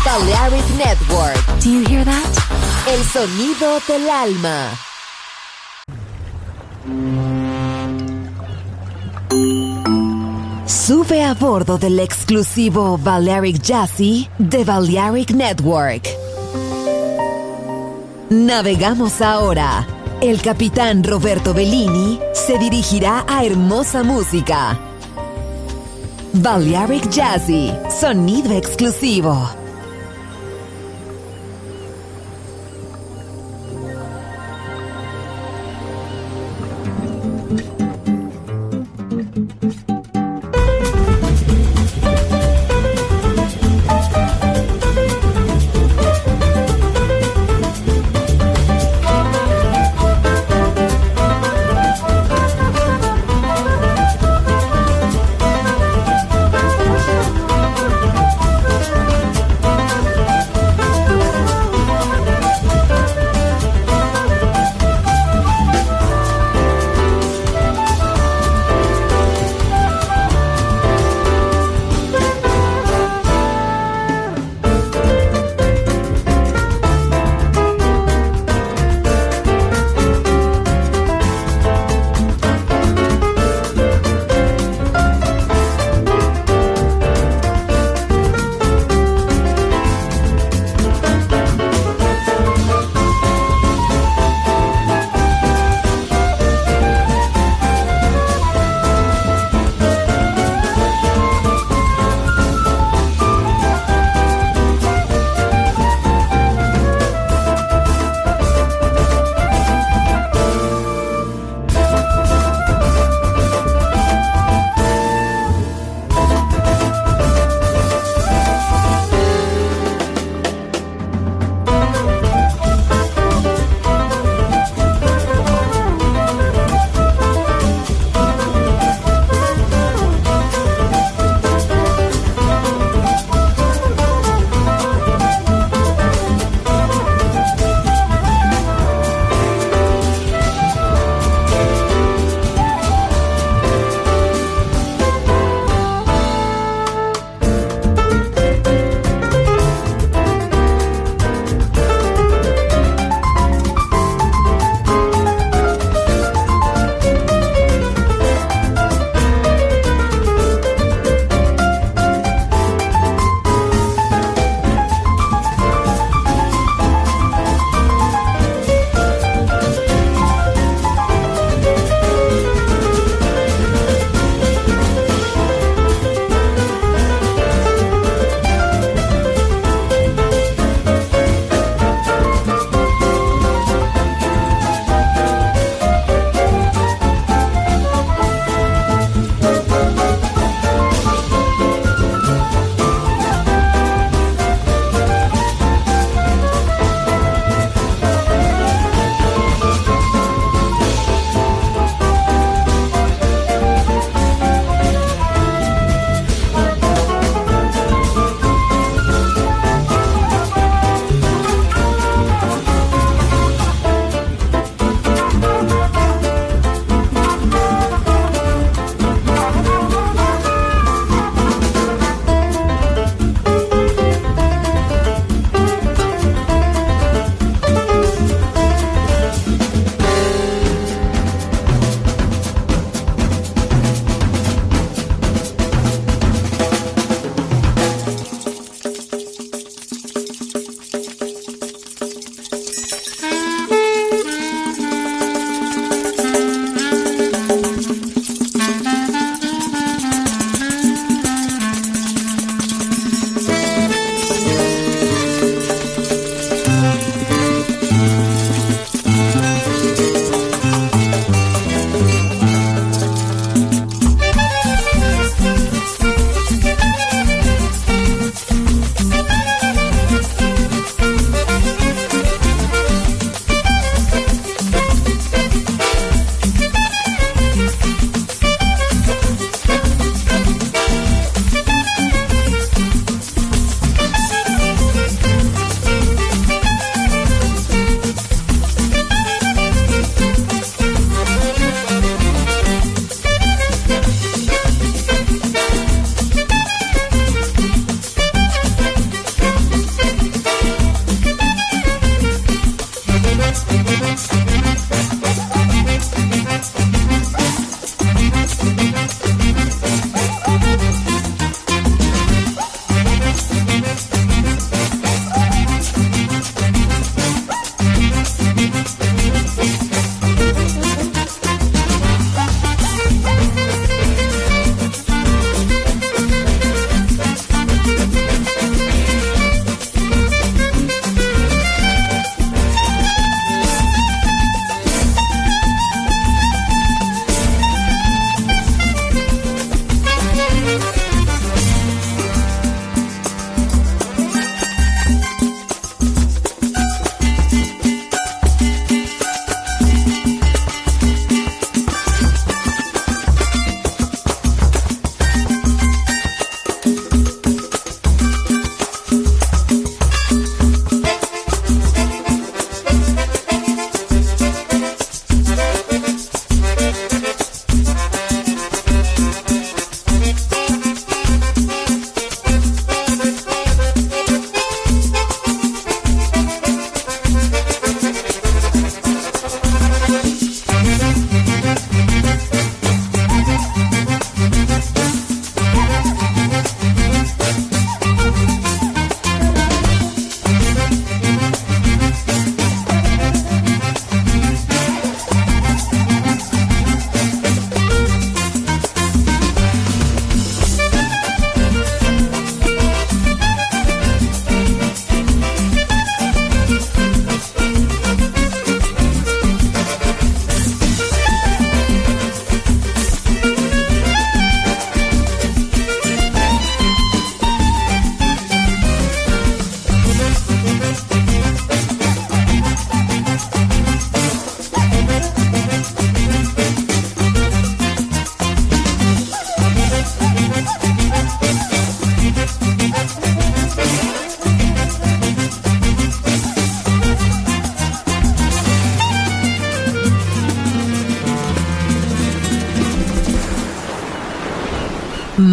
Balearic Network. Do you hear that? El sonido del alma. Sube a bordo del exclusivo Balearic Jazzy de Balearic Network. Navegamos ahora. El capitán Roberto Bellini se dirigirá a hermosa música. Balearic Jazzy, sonido exclusivo.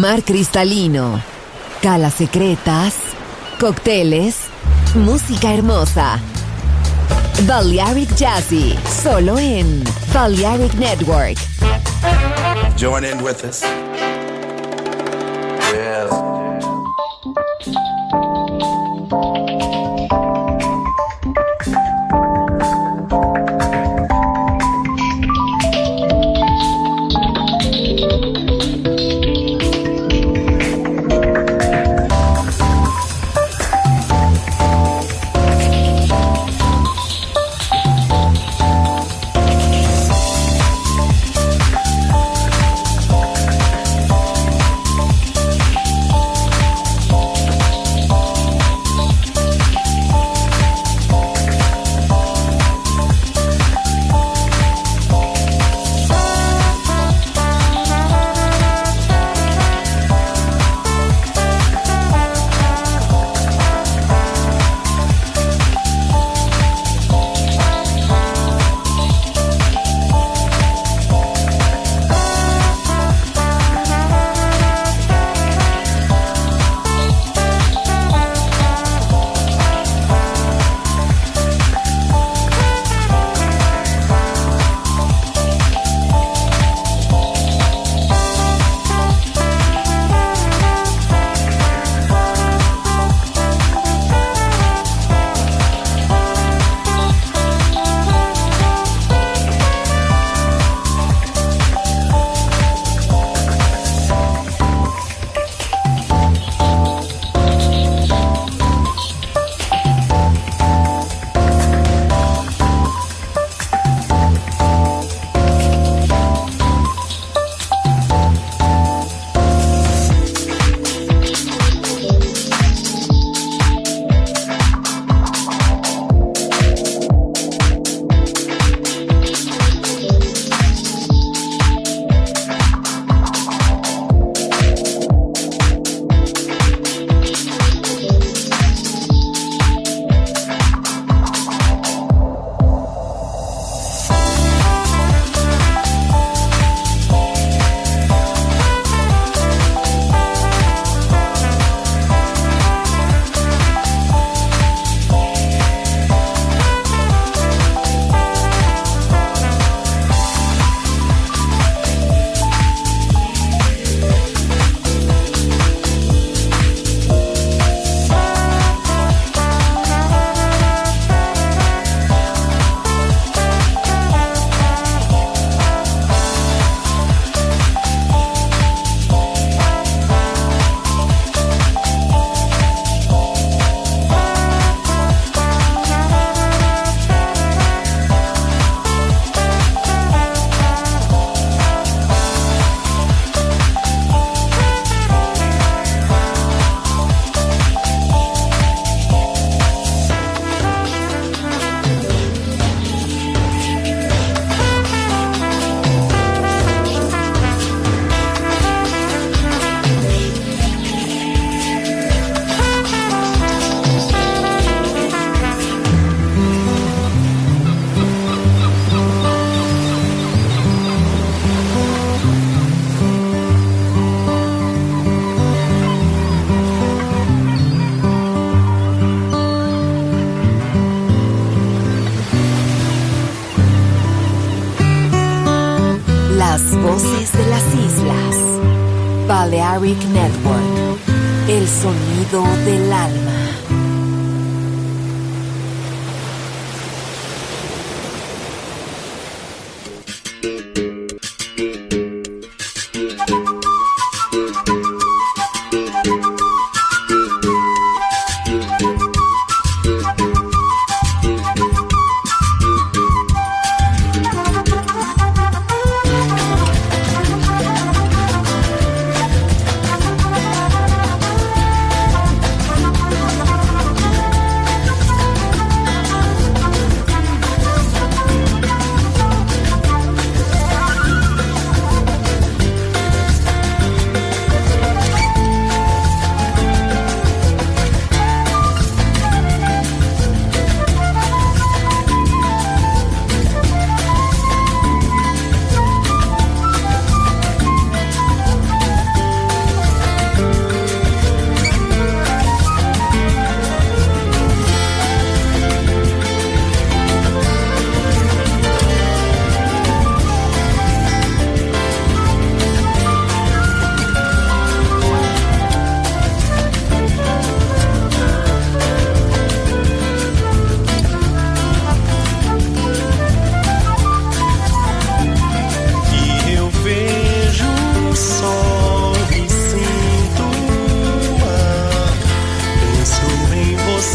mar cristalino, calas secretas, cócteles, música hermosa. Balearic Jazzy, solo en Balearic Network. Join in with us. Yeah. Voces de las islas. Balearic Network. El sonido del alma.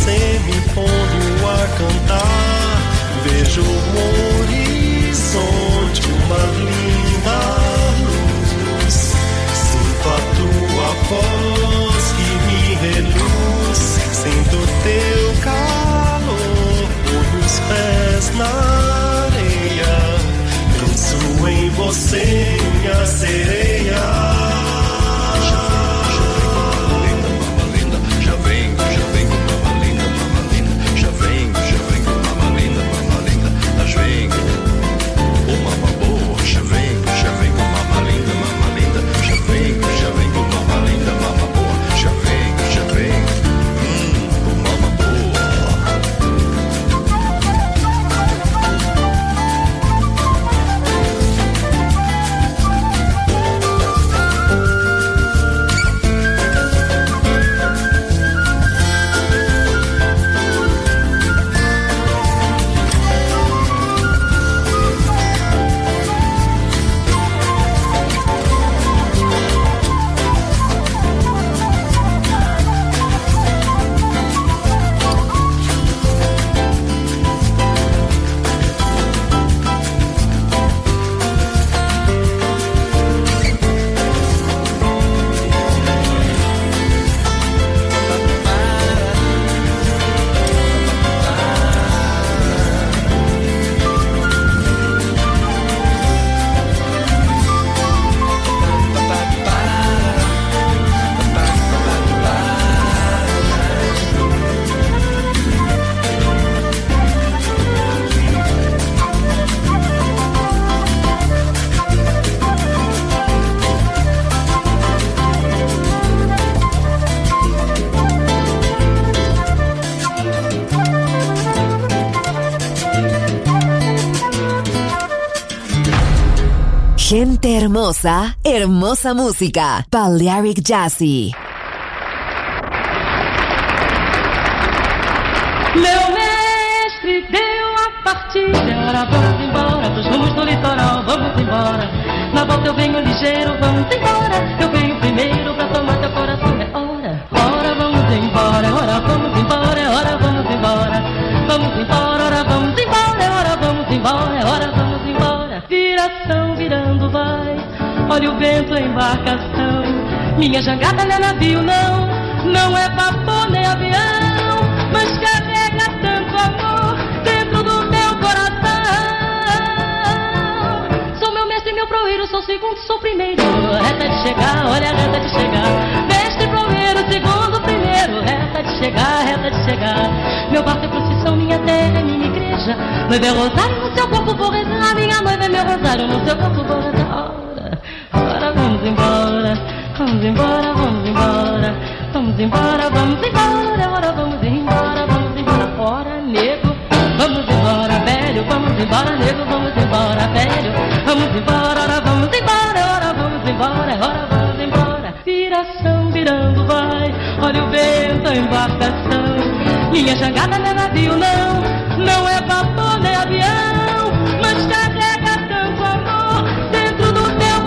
você me pondo a cantar. Vejo um horizonte, uma linda luz. Sinto a tua voz que me reluz. Sinto teu calor, ponho os pés na areia. Penso em você, minha sereia. Gente hermosa, hermosa música. Balearic Jazzy. Meu mestre deu a partida, ora vamos embora pros rumos do litoral, vamos embora. Na volta eu venho ligeiro, vamos embora. Eu venho primeiro pra tomar teu coração, é hora. Ora vamos embora, ora vamos embora, ora vamos embora. Vamos embora, ora vamos embora, ora vamos embora, ora vamos embora. Viração virando vai, olha o vento, a embarcação. Minha jangada não é navio não, não é vapor nem avião, mas carrega tanto amor dentro do meu coração. Sou meu mestre, meu proeiro, sou segundo, sou primeiro. Reta de chegar, olha a reta de chegar. Mestre, proeiro, segundo, primeiro. Reta de chegar, reta de chegar. Meu barco é procissão, minha terra é minha igreja. Noiva é rosário, no seu corpo vou rezar. Minha noiva é meu rosário, no seu corpo vou rezar. Ora, vamos embora, vamos embora, vamos embora. Vamos embora, vamos embora, ora vamos embora, vamos embora. Ora, nego, vamos embora, velho, vamos embora, nego, vamos embora, velho. Vamos embora, ora vamos embora, ora vamos embora, ora vamos embora. Viração virando vai, olha o vento, a embarcação. Minha jangada não é navio não, não é vapor nem avião, mas carrega tanto amor dentro do teu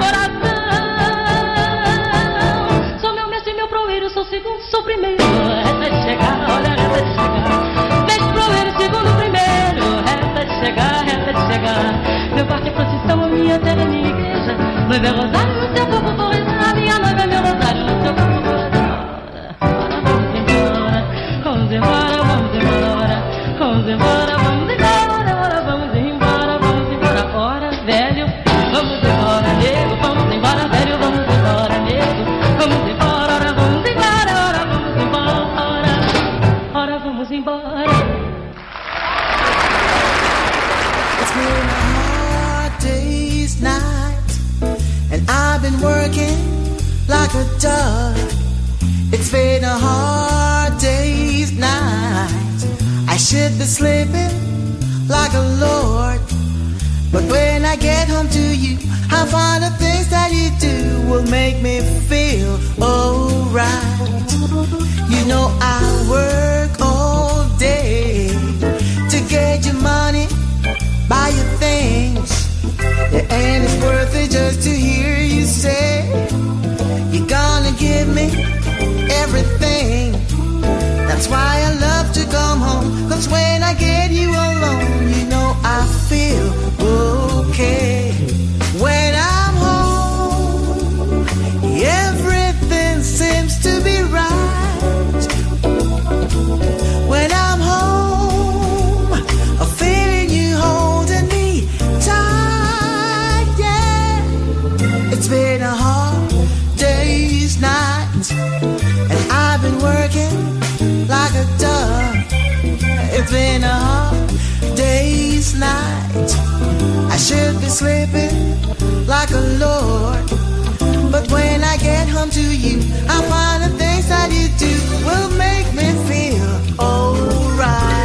coração. Sou meu mestre, meu proeiro, sou segundo, sou primeiro. Reta de chegar, olha a reta de chegar. Mestre, proeiro, segundo, primeiro. Reta de chegar, reta de chegar. Meu barco é procissão, a minha terra é minha igreja. Noiva é rosário, no seu corpo vou rezar. Minha noiva é meu rosário, no seu corpo vou rezar. Ora, vamos embora, vamos embora, vamos embora. Vamos embora, vamos embora, ora vamos embora, vamos embora. Ora, velho, vamos embora, nego, vamos embora, velho, vamos embora, nego. Vamos embora, ora vamos embora, ora vamos embora, ora vamos embora. It's been a hard day's night, and I've been working like a dog. It's been a hard day's night. I should be sleeping like a lord, but when I get home to you, I find the things that you do will make me feel alright. You know I work all day to get your money, buy your things, and it's worth it just to hear you say gonna give me everything. That's why I love to go 'cause when I get you alone, you know I feel okay. When I'm home, everything seems to be right. When I'm home, I'm feeling you holding me tight, yeah. It's been a hard day's night, and I've been working like a dog. It's been a hard day's night. I should be sleeping like a lord, but when I get home to you, I find the things that you do will make me feel alright.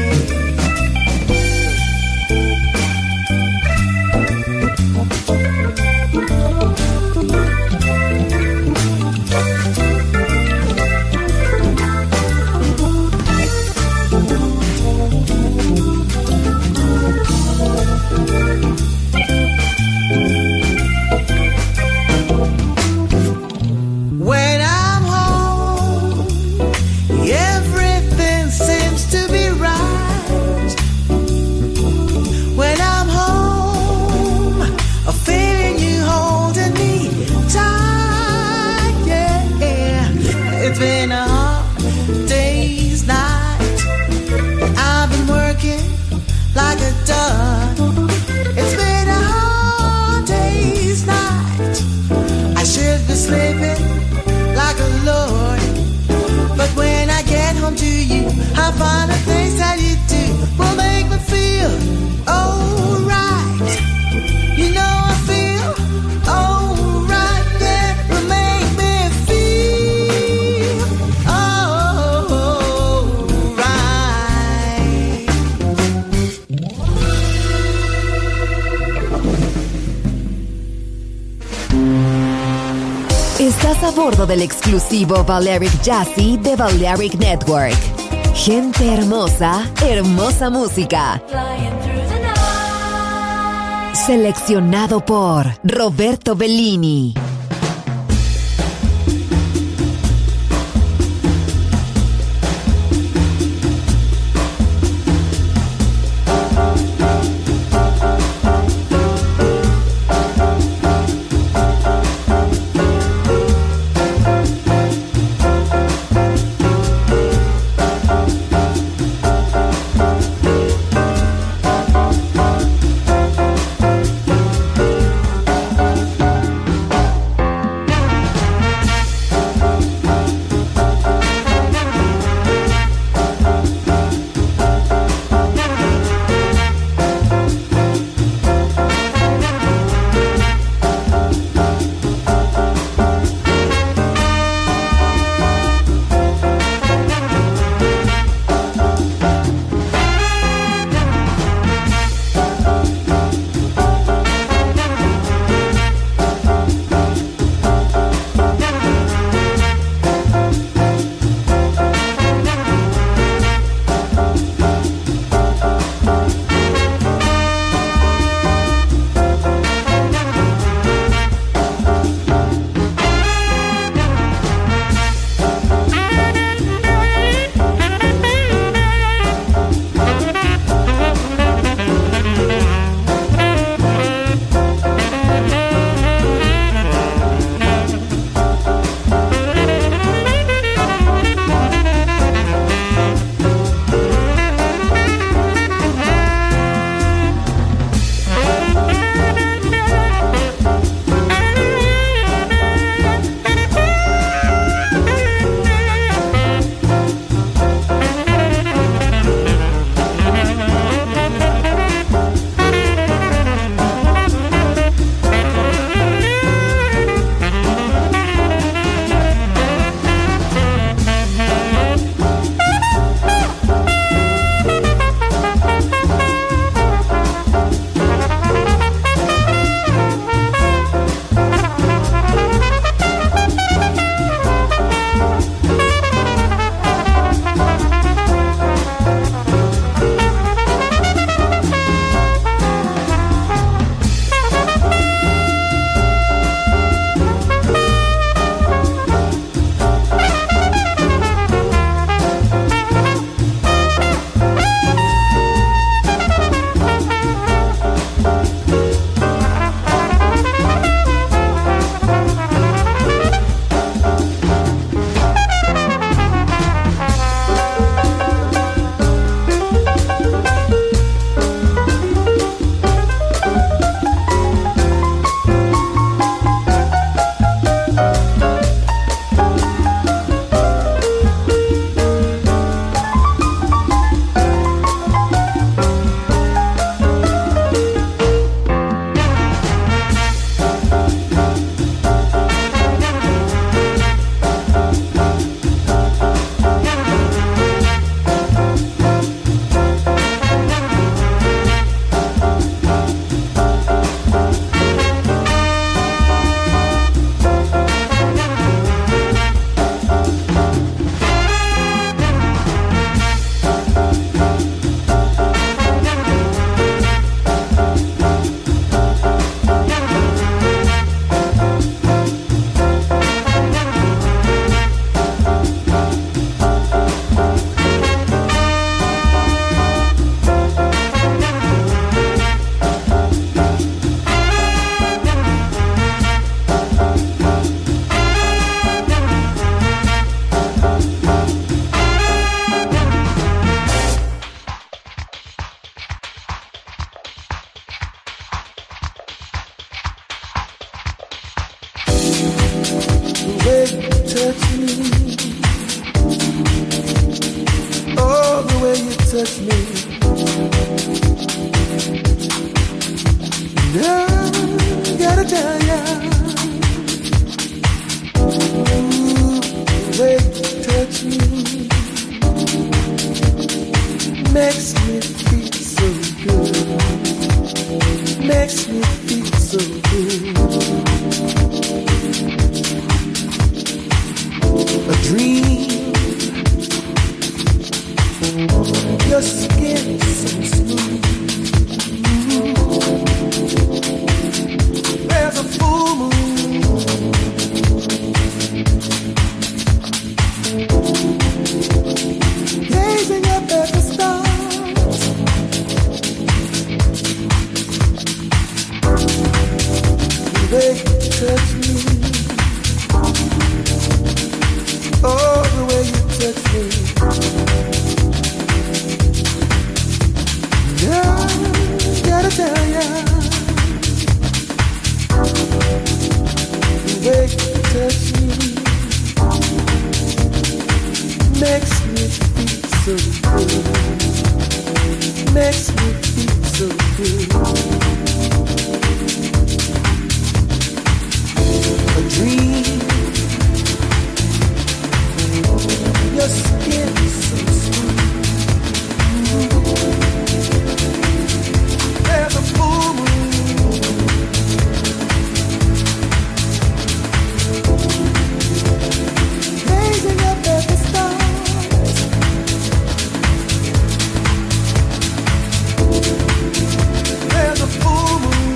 When I'm home, everything seems to be right. When I'm home, I'm feeling you holding me tight, yeah. It's been a hard day's night. I've been working like a dog. It's been a hard day's night. I should be sleeping like a lord, but when I get home to you, I find the things that you do will make me feel alright. You know I feel alright, yeah, will make me feel alright. Estás a bordo del exclusivo Balearic Jazzy de Balearic Network. Gente hermosa, hermosa música. Seleccionado por Roberto Bellini. touch me. Now, gotta tell ya, the way you touch me makes me feel so good. Makes me feel so good. A dream. Your skin is so smooth. There's a full moon. Gazing up at the stars. The way you touch me. Oh, the way you touch me. Yeah, gotta tell ya, the way you touch me makes me feel so good. Makes me feel so good. A dream. Your skin is so smooth. There's a full moon. Gazing up at the stars. There's a full moon.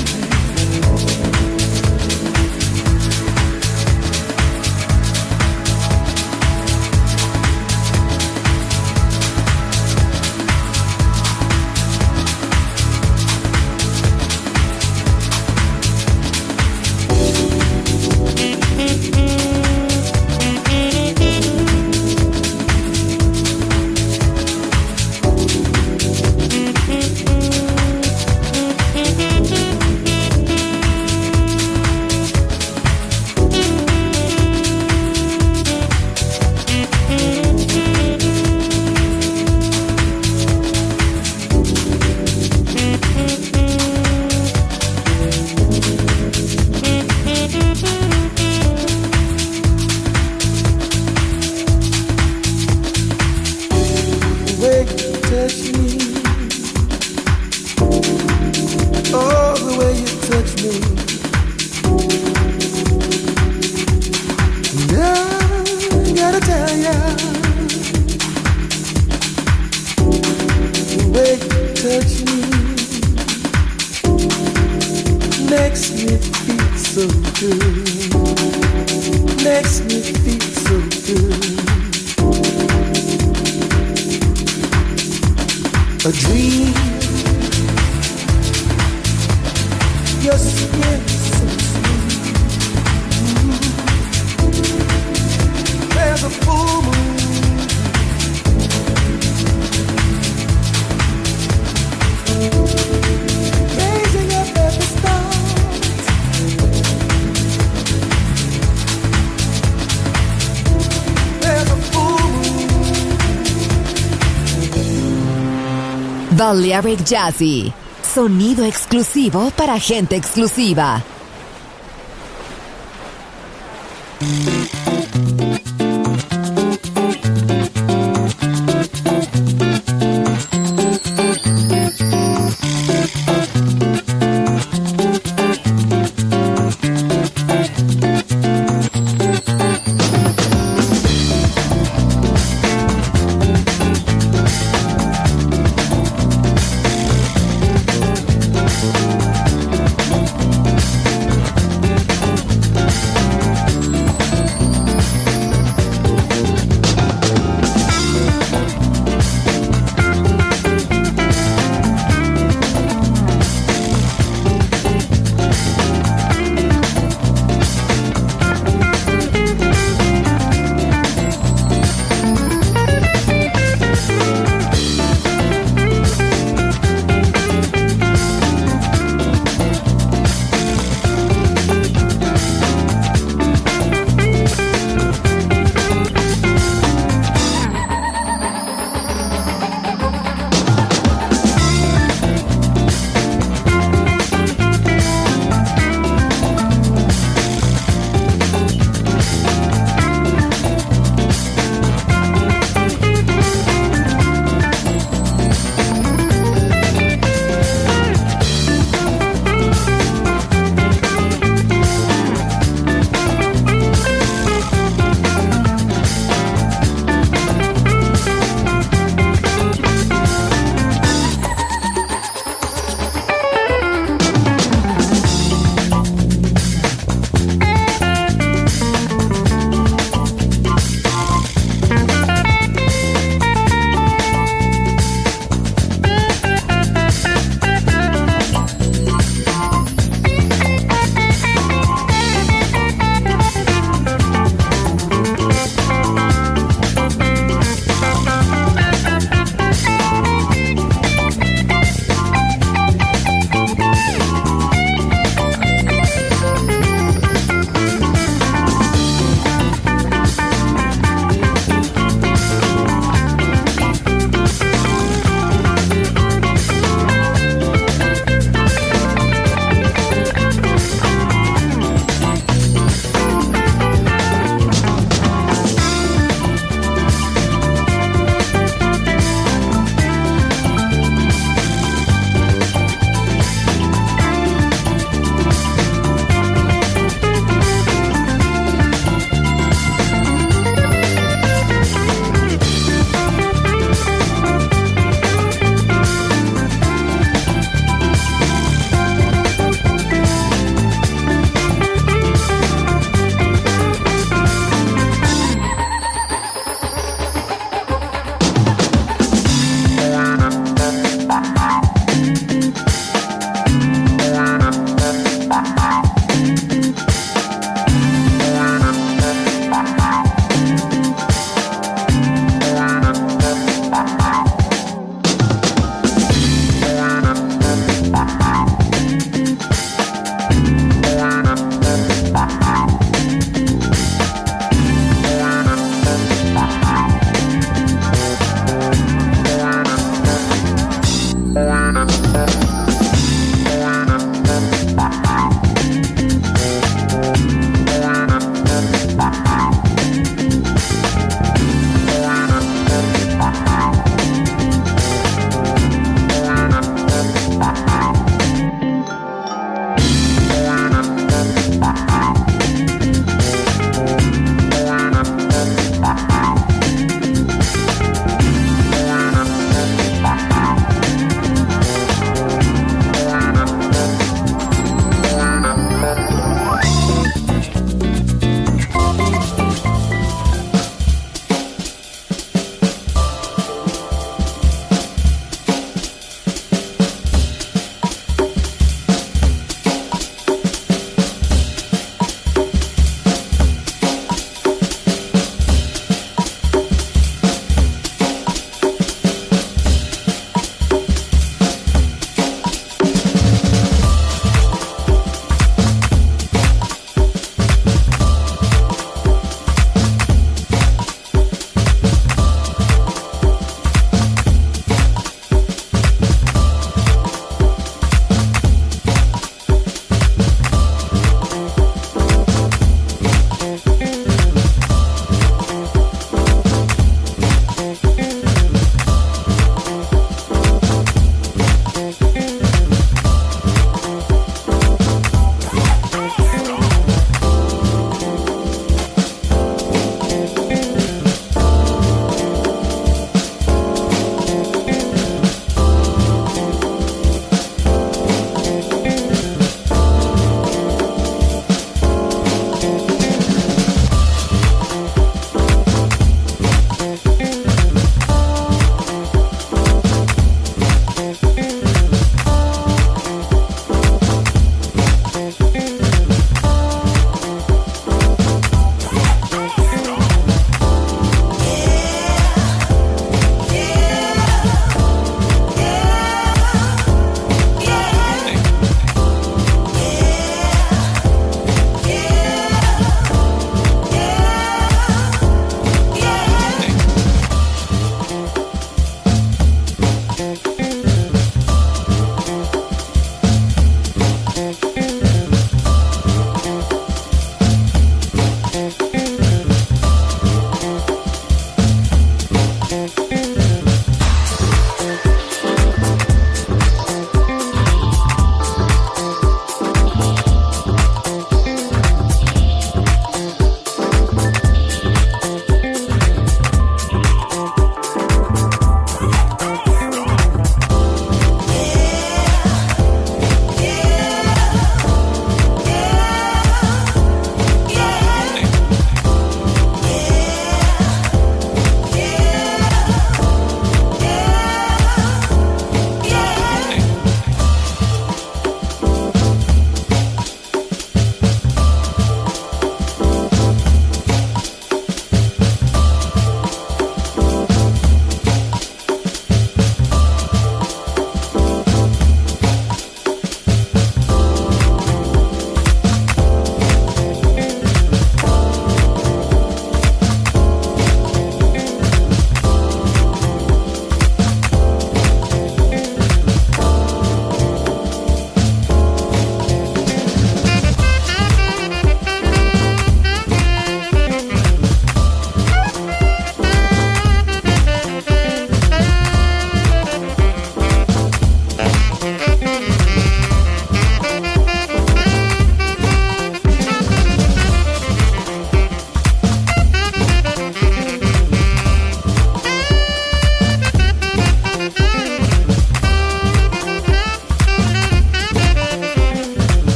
A dream. Your skin is so smooth. There's a full moon. Gazing up at the stars. There's a full moon. Balearic Jazzy. Sonido exclusivo para gente exclusiva.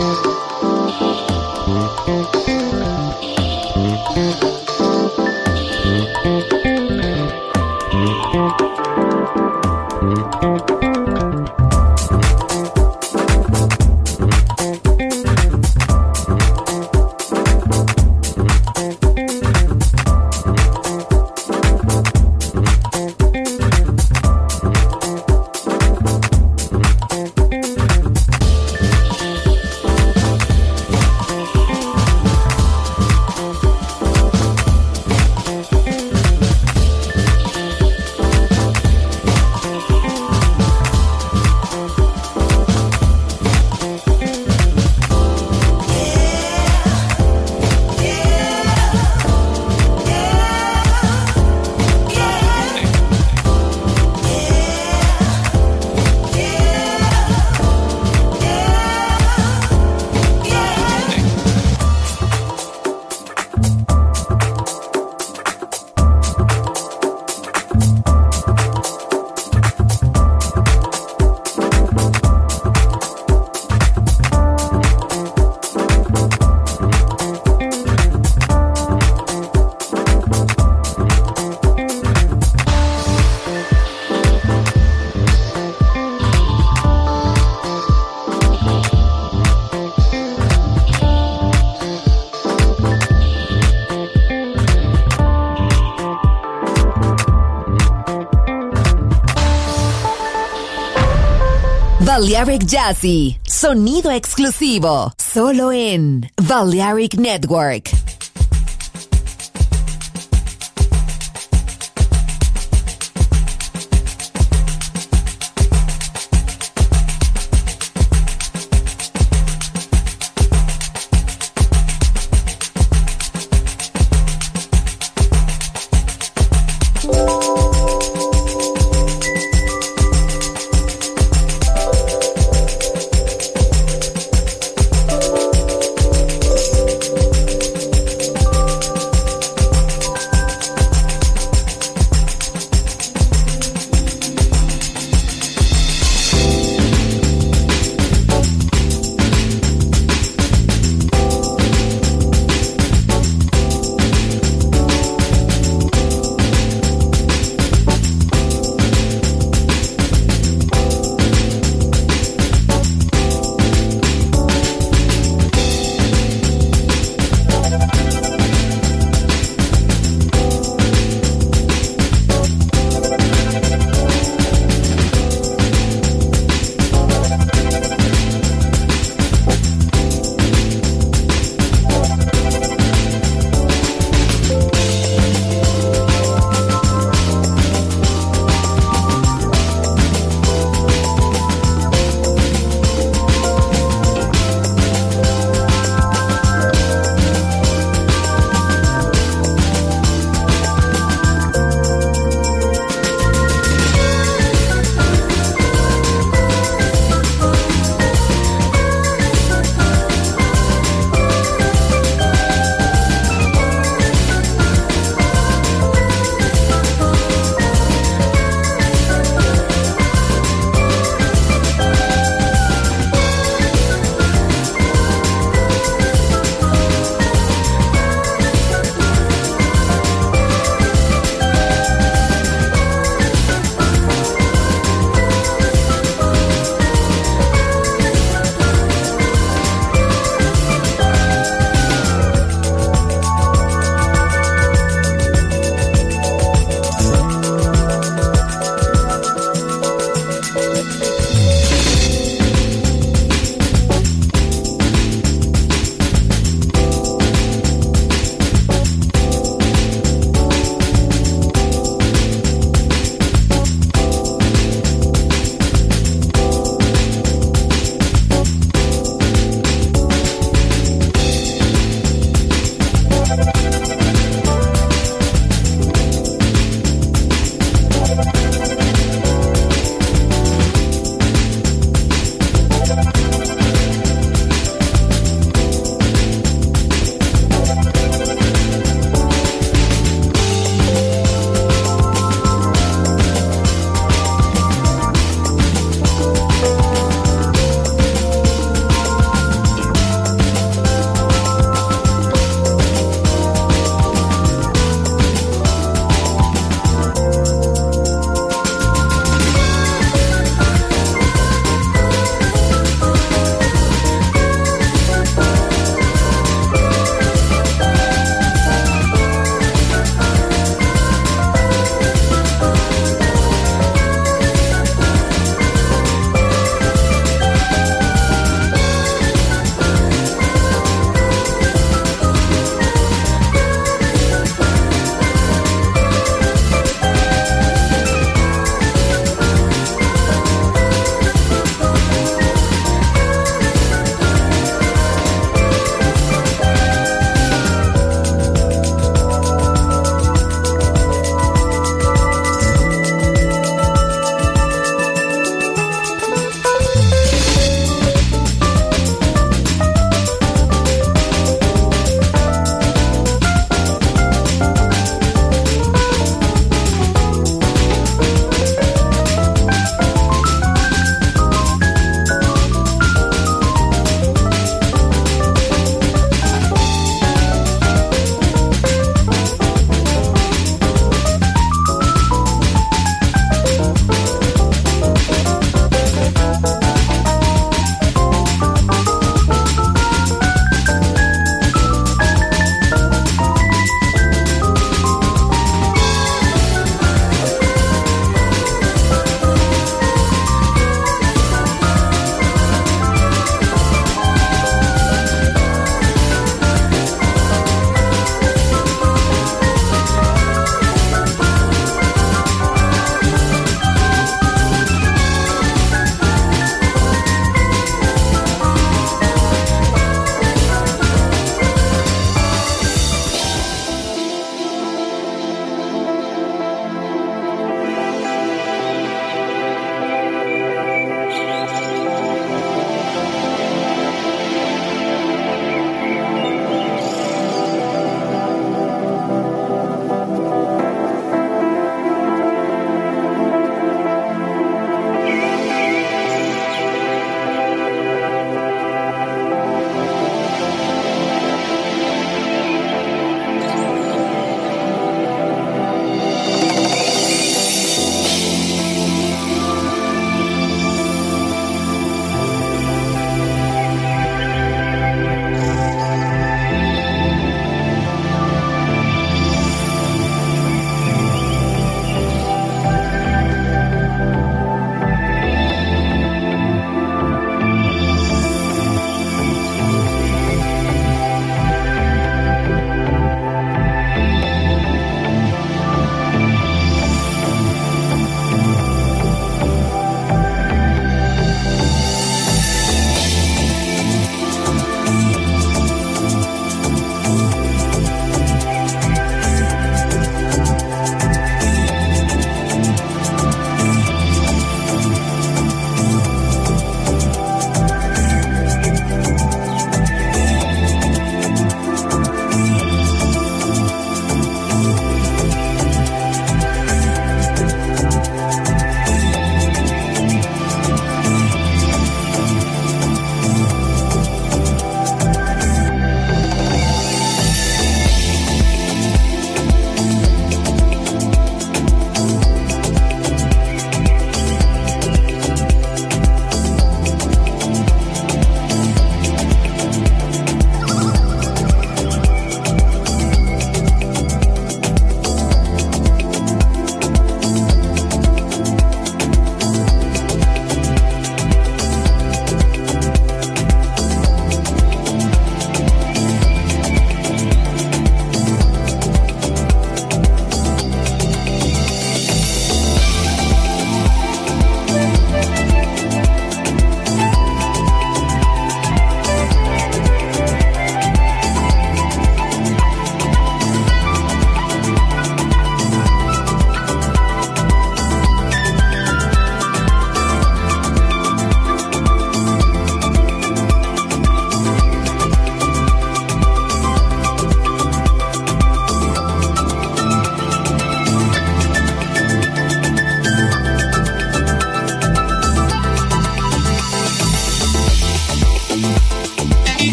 Balearic Jazzy, sonido exclusivo, solo en Balearic Network.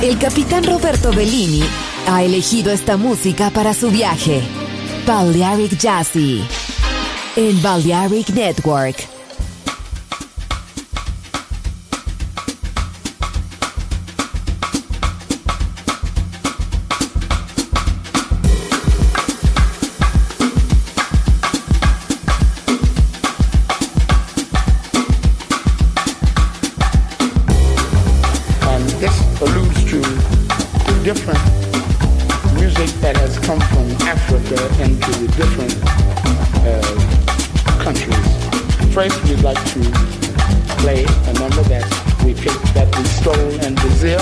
El capitán Roberto Bellini ha elegido esta música para su viaje. Balearic Jazzy en Balearic Network. Different music that has come from Africa into the different countries. First, we'd like to play a number that we stole in Brazil.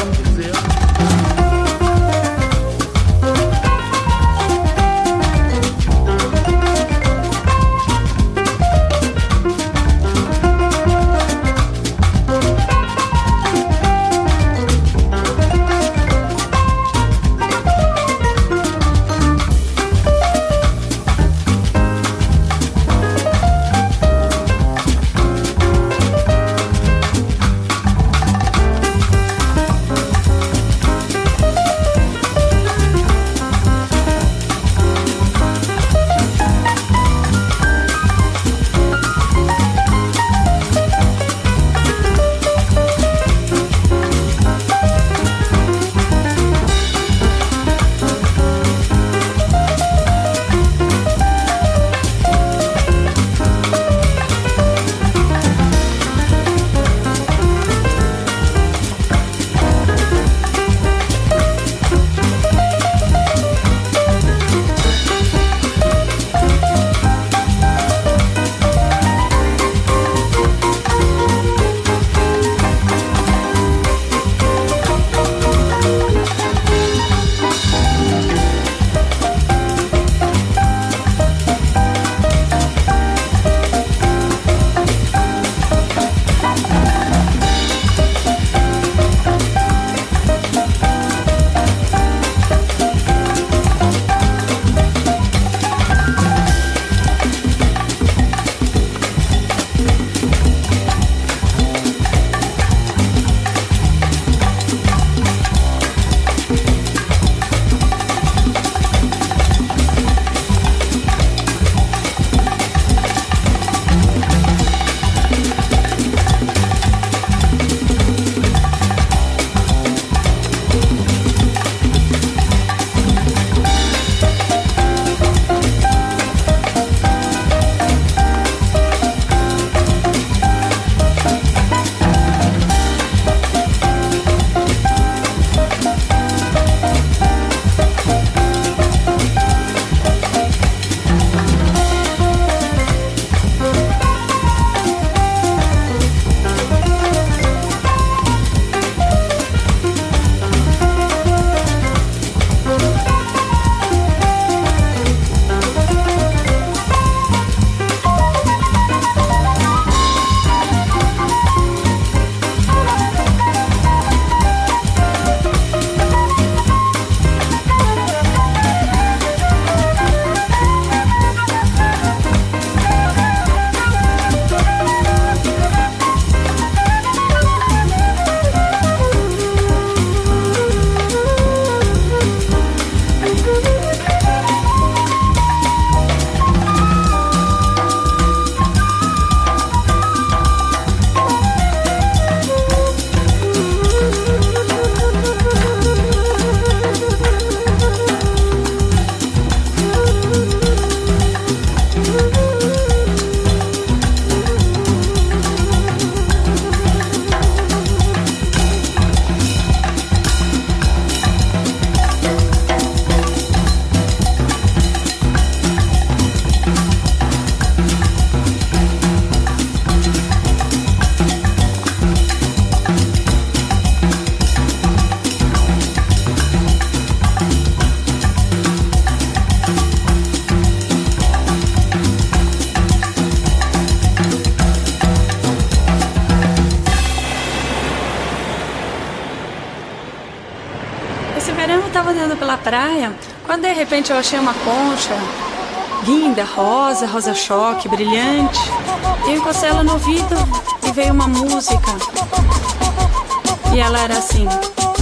estava andando pela praia, quando de repente eu achei uma concha linda, rosa, rosa-choque, brilhante. Eu encostei ela no ouvido e veio uma música. E ela era assim: